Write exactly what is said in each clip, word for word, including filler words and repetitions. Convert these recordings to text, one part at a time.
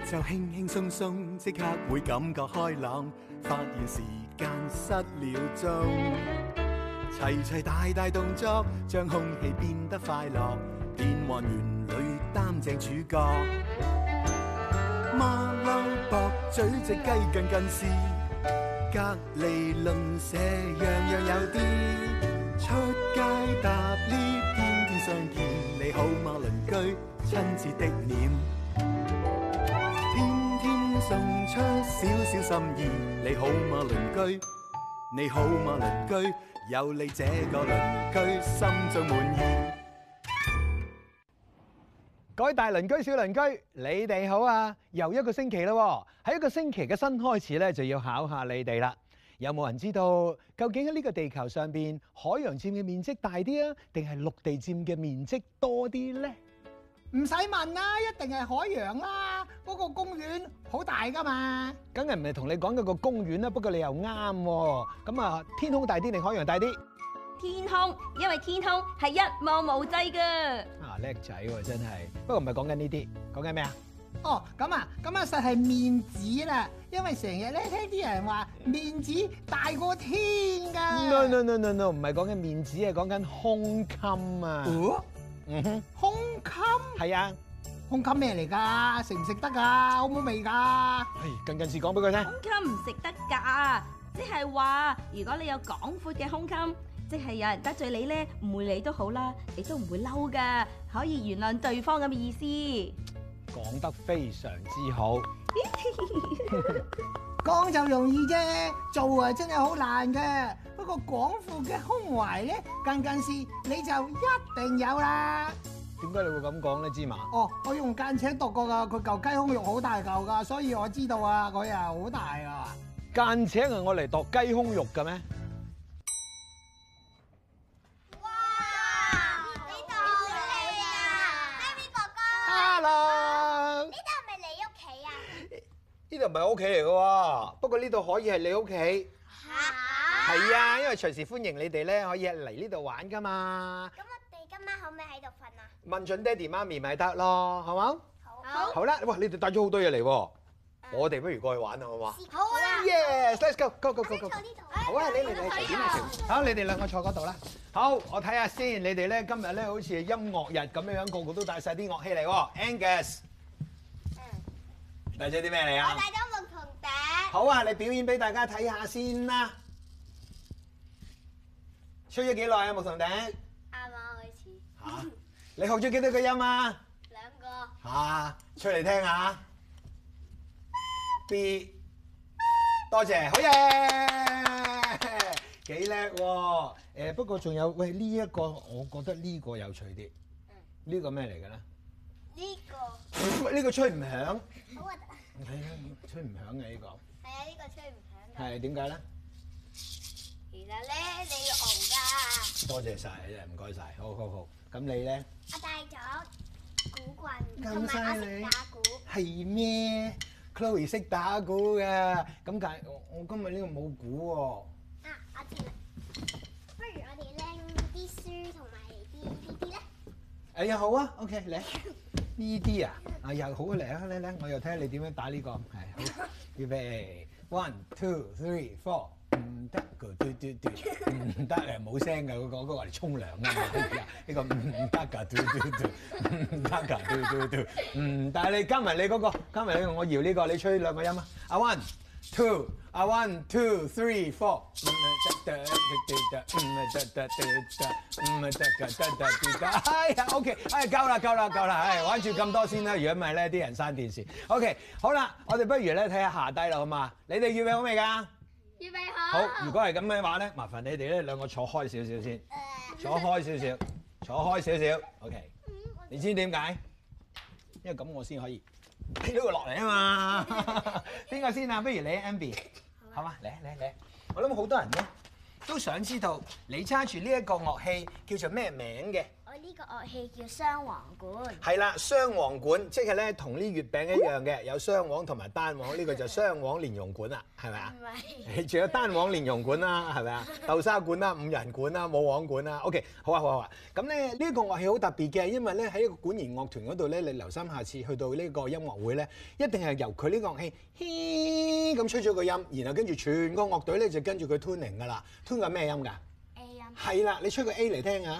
就輕輕鬆鬆，即刻會感覺開朗，發現時間失了蹤。齊齊大大動作，將空氣變得快樂，變幻園裏擔正主角。馬騮駁嘴隻雞近近視，隔離鄰舍樣樣有啲。出街搭 lift，天天相見，你好嗎鄰居？親切的臉，天天送出少少心意，你好嗎鄰居？你好嗎鄰居？有你這個鄰居，心中滿意。 各位大鄰居、小鄰居，你哋好啊！又一個星期啦，喺一個星期嘅新開始咧，就要考下你哋啦。有冇人知道究竟喺呢個地球上邊，海洋佔嘅面積大啲啊，定係陸地佔嘅面積多啲咧？ 唔使問啦，一定係海洋啦！嗰個公園好大噶嘛。 梗係唔係同你講嗰個公園啦，不過你又啱喎。咁啊，天空大啲定海洋大啲？ 天空，因為天空係一望無際噶。 啊，叻仔喎，真係。不過唔係講緊呢啲，講緊咩啊？ 哦，咁啊，咁啊，實係面子啦。因為成日咧聽啲人話面子大過天㗎。 No no no no no， 唔係講緊面子啊，講緊胸襟啊。 哦， 嗯哼， 胸襟係啊。 胸襟咩嚟㗎？食唔食得㗎？好唔好味㗎？ 係近近時講俾佢聽。 胸襟唔食得㗎，即係話如果你有廣闊嘅胸襟，即係有人得罪你咧，誤會你都好啦，你都唔會嬲㗎，可以原諒對方咁嘅意思。 講得非常之好。 講就容易啫，做啊真係好難嘅。不過廣闊嘅胸懷咧，近近視你就一定有啦。 點解你會咁講咧，芝麻？ 哦，我用間尺度過㗎，佢嚿雞胸肉好大嚿㗎，所以我知道啊，佢啊好大啊。 間尺係我嚟度雞胸肉嘅咩？ 哇！呢度好靚啊 ，Harry 哥哥。 Hello。 呢度係咪你屋企啊？ 呢度唔係我屋企嚟嘅喎，不過呢度可以係你屋企。 嚇！ 係啊，因為隨時歡迎你哋咧，可以嚟呢度玩㗎嘛。 咁我哋今晚可唔可以喺度瞓啊？ 問準爹哋媽咪咪得咯，好冇？ 好。 好啦，哇！你哋帶咗好多嘢嚟喎，我哋不如過去玩啊，好嘛？ 好啊。 Yes，let's go，go go go go。 坐呢度。 好啊，你嚟嚟隨便啊，好，你哋兩個坐嗰度啦。好，我睇下先，你哋咧今日咧好似係音樂日咁樣樣，個個都帶晒啲樂器嚟喎。Angus，帶咗啲咩嚟啊？ 我帶咗牧童笛。 好啊，你表演俾大家睇下先啦。吹咗幾耐啊，牧童笛？ 啱啱開始。 嚇！你學咗幾多個音啊？ 兩個。 嚇！吹嚟聽下。B， 多謝，好嘢，幾叻喎！誒不過仲有，喂呢一個，我覺得呢個有趣啲。呢個咩嚟嘅咧？ 呢個。 喂，呢個吹唔響。 好核突。 係啊，吹唔響嘅呢個。 係啊，呢個吹唔響㗎。 係點解咧？ 其實咧，你要熬㗎。 多謝晒，真係唔該晒，好好好。咁你咧？ 我帶咗鼓棍， 咁同埋我犀利識打鼓。 係咩？Chloe 識打鼓嘅，咁但係我我今日呢個冇鼓喎。 啊，我知啦。不如我哋拎啲書同埋啲呢啲咧。 哎呀，好啊 ，OK，嚟呢啲啊，啊又好嚟啊，嚟嚟，我又睇下你點樣打呢個，係好，預備 one two three four， 唔得個嘟嘟嘟，唔得誒冇聲㗎嗰個，嗰個嚟沖涼啊嘛，呢個唔得㗎嘟嘟嘟，唔得㗎嘟嘟嘟，唔但係你加埋你嗰個，加埋你我搖呢個，你吹兩個音啊，啊 one two，啊 one two three four， 唔得得得得，唔得得得得，唔得得得得，哎呀 OK， 哎夠啦夠啦夠啦，哎玩住咁多先啦，如果唔係咧啲人閂電視。OK， 好啦，我哋不如咧睇下下低啦好嘛？你哋預備好未㗎？ 預備好。 好，如果係咁嘅話咧，麻煩你哋咧兩個坐開少少先，坐開少少，坐開少少 OK。你知點解？因為咁我先可以睇到佢落嚟啊嘛。邊個先啊？不如你 Amby， 好嘛？嚟嚟嚟，我諗好多人咧都想知道你揸住呢一個樂器叫做咩名嘅？ 我呢個樂器叫雙簧管。 係啦，雙簧管即係咧同呢月餅一樣嘅，有雙簧同埋單簧，呢、呢個就雙簧連用管啦，係咪啊？ 唔係。 仲有單簧連用管啦，係咪啊？豆沙管啦、五人管啦、冇簧管啦。OK， 好啊好啊好啊。咁咧呢個樂器好特別嘅，因為咧喺一個管弦樂團嗰度咧，你留心下次去到呢個音樂會咧，一定係由佢呢個樂器嘻咁吹咗個音，然後跟住全個樂隊咧就跟住佢 tuning 㗎啦。tune 緊咩音㗎 A 音。 係啦，你吹個 A 嚟聽下。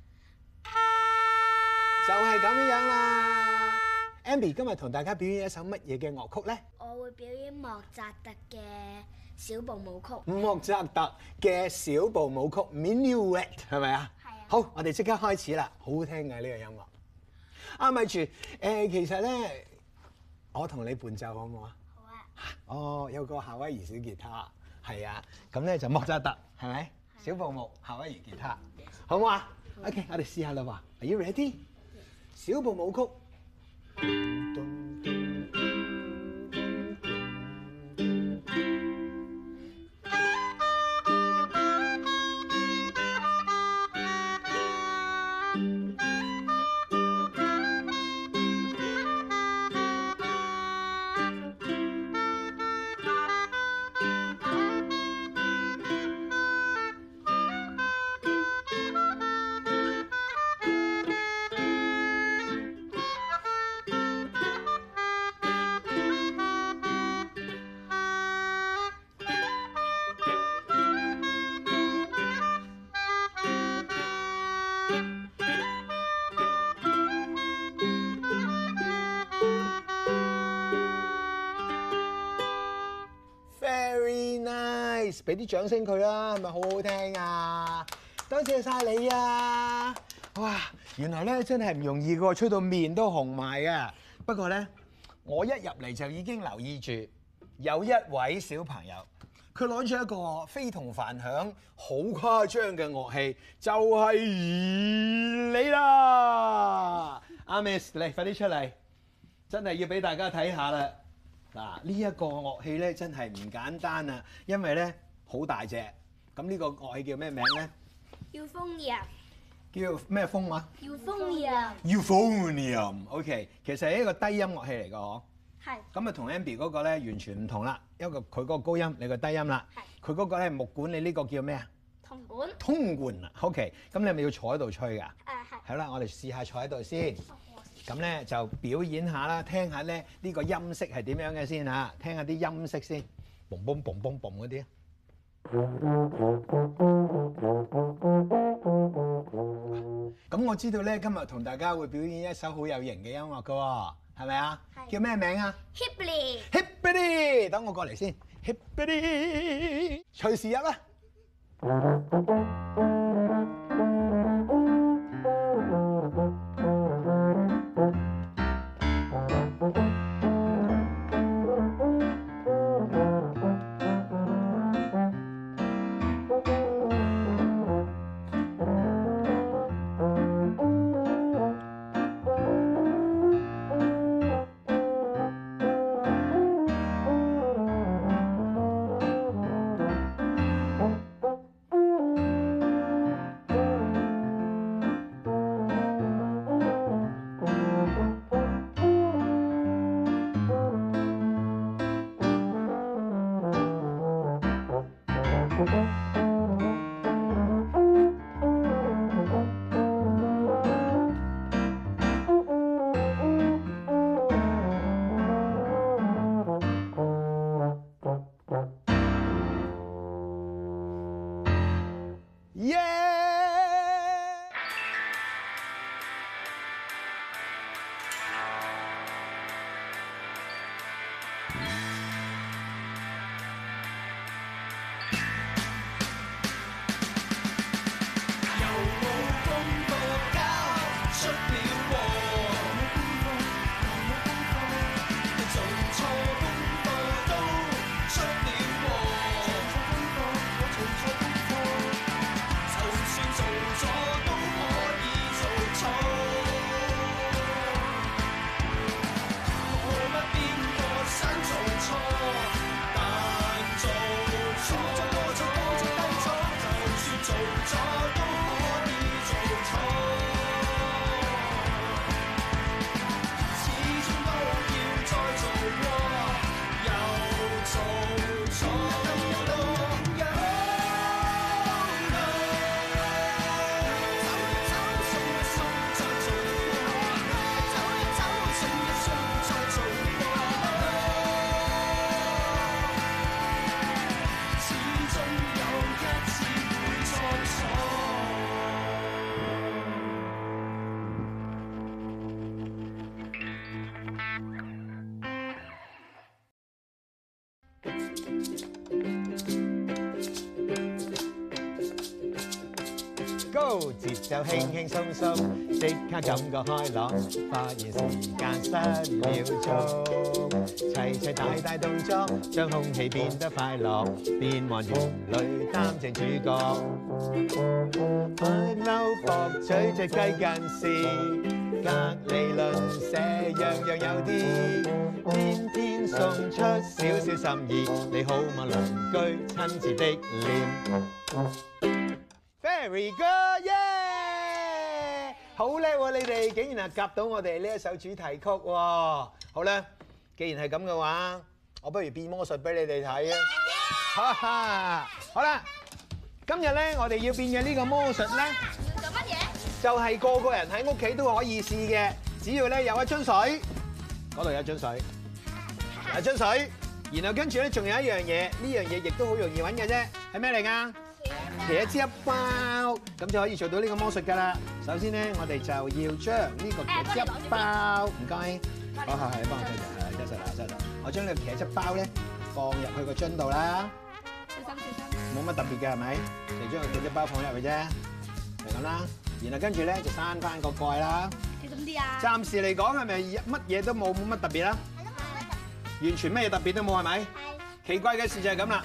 就係咁樣樣啦。Amby 今日同大家表演一首乜嘢嘅樂曲咧？ 我會表演莫扎特嘅小步舞曲。 莫扎特嘅小步舞曲 Minuet 係咪啊？ 係啊。 好，我哋即刻開始啦，好好聽嘅呢個音樂。啊，咪住誒，其實咧，我同你伴奏好唔好啊？ 好啊。 哦，有個夏威夷小吉他，係啊，咁咧就莫扎特係咪？小步舞夏威夷吉他，好唔好啊 ？OK， 我哋試下啦喎。Are you ready？小步舞曲。俾啲掌聲佢啦，係咪好好聽啊？多謝晒你啊！哇，原來咧真係唔容易㗎，吹到面都紅埋嘅。不過咧，我一入嚟就已經留意住有一位小朋友，佢攞咗一個非同凡響、好誇張嘅樂器，就係你啦！阿 Miss，嚟快啲出嚟，真係要俾大家睇下啦！嗱，呢一個樂器咧真係唔簡單啊，因為咧好大隻。咁呢個樂器叫咩名咧？ 要風人。 叫咩風啊？ 要風人。 Euphonium。OK， 其實係一個低音樂器嚟㗎嗬。 係。 咁啊同 Amby 嗰個咧完全唔同啦，因為佢嗰個高音，你個低音啦。係。佢嗰個咧木管，你呢個叫咩啊？ 銅管。 通管啊。OK， 咁你係咪要坐喺度吹㗎？誒係。 係啦，我哋試下坐喺度先。咁咧就表演下啦，聽下咧呢個音色係點樣嘅先嚇，聽下啲音色先，嘣嘣嘣嘣嘣嗰啲啊。咁我知道咧，今日同大家會表演一首好有型嘅音樂㗎喎，係咪啊？叫咩名啊 ？Hippity。 Hippity，等我過嚟先。Hippity，隨時入啦。 就 ，節奏輕輕鬆鬆，即刻感覺開朗，發現時間失了蹤，齊齊大大動作，將空氣變得快樂，變幻園裏擔正主角，開嬲駁嘴隻雞近視。隔離鄰舍樣樣有啲，天天送出少少心意，你好嗎鄰居親切的臉 ？Very good，耶！好叻喎，你哋竟然係夾到我哋呢一首主題曲喎。好啦，既然係咁嘅話，我不如變魔術俾你哋睇啊！哈哈，好啦，今日咧我哋要變嘅呢個魔術咧。 做乜嘢？ 就係個個人喺屋企都可以試嘅，只要咧有一樽水，嗰度有一樽水，有一樽水，然後跟住咧仲有一樣嘢，呢樣嘢亦都好容易揾嘅啫，係咩嚟㗎？茄汁包，咁就可以做到呢個魔術㗎啦。首先咧，我哋就要將呢個茄汁包，唔該，好係係，幫我揸住，係得實啦，得實。我將呢個茄汁包咧放入去個樽度啦， 小心小心。 冇乜特別嘅係咪？就將個茄汁包放入去啫，就咁啦。然後跟住咧就閂翻個蓋啦。 小心啲啊！ 暫時嚟講係咪乜嘢都冇，冇乜特別啦？完全咩嘢特別都冇係咪？係。奇怪嘅事就係咁啦。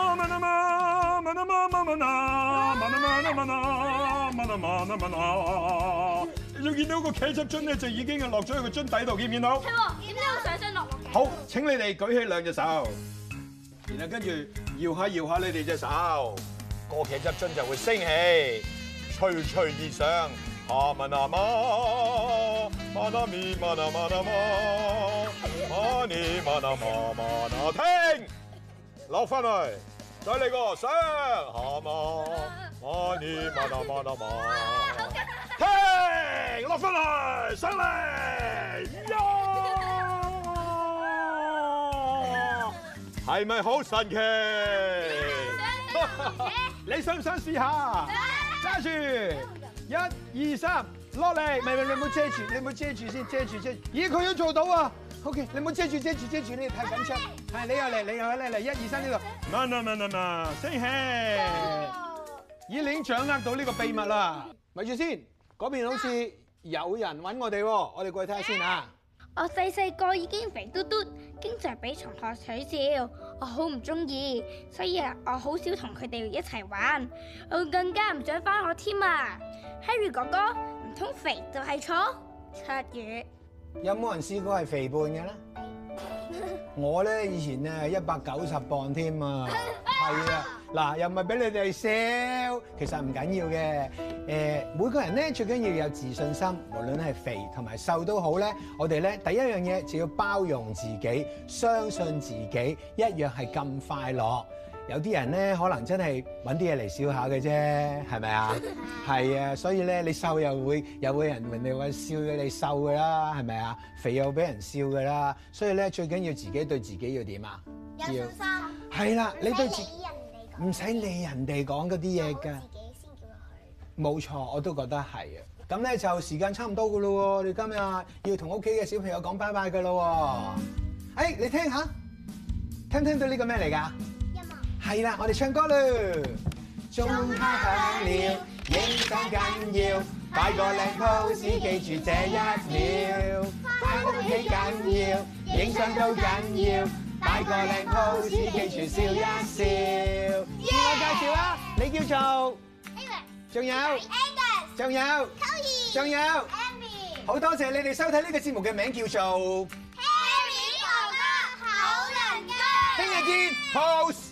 你仲見到個茄汁樽咧，就已經係落咗喺個樽底度，見唔見到？ 係喎，點解會上上落落嘅？ 好，請你哋舉起兩隻手，然後跟住搖下搖下你哋隻手，個茄汁樽就會升起。吹吹而上，啊嘛那嘛，嘛那咪嘛那嘛那嘛，嘛你嘛那嘛嘛那停，落翻嚟，再嚟個上，啊嘛，嘛你嘛那嘛那嘛，停，落翻嚟，上嚟，呀，係咪好神奇？你想唔想試下？揸住，一、二、三，落嚟，唔係唔係，你唔好遮住，你唔好遮住先，遮住遮住。咦，佢都做到啊 ！OK， 你唔好遮住遮住遮住，你太緊張。係，你又嚟，你又嚟嚟，一、二、三呢度。慢啊慢啊慢，升起。咦，你已經掌握到呢個秘密啦。咪住先，嗰邊好似有人揾我哋喎，我哋過去睇下先啊。 我細細個已經肥嘟嘟，經常俾同學取笑，我好唔中意，所以啊，我好少同佢哋一齊玩，我更加唔想返學添啊 ！Harry 哥哥，唔通肥就係錯？七月有冇人試過係肥胖嘅咧？我咧以前咧一百九十磅添啊，係啊，嗱又唔係俾你哋笑，其實唔緊要嘅。誒，每個人咧最緊要有自信心，無論係肥同埋瘦都好咧。我哋咧第一樣嘢就要包容自己，相信自己，一樣係咁快樂。有啲人咧可能真係揾啲嘢嚟笑下嘅啫，係咪啊？係啊，所以咧你瘦又會又會人人哋話笑你瘦㗎啦，係咪啊？肥又俾人笑㗎啦，所以咧最緊要自己對自己要點啊？ 有信心。 係啦，你對自唔使理人哋講。 唔使理人哋講嗰啲嘢㗎。 自己先叫佢。 冇錯，我都覺得係啊。咁咧就時間差唔多㗎咯喎，你今日要同屋企嘅小朋友講拜拜㗎咯喎。誒，你聽下，聽唔聽到呢個咩嚟㗎？係啦，我哋唱歌啦！鐘敲響了，影相緊要，擺個靚 pose，記住這一秒。返屋企緊要，影相都緊要，擺個靚 pose，記住笑一笑。自我介紹啦，你叫做？仲有？仲有？仲有？好多謝你哋收睇呢個節目嘅名叫做 Harry 哥哥好鄰居。 聽日見，pose。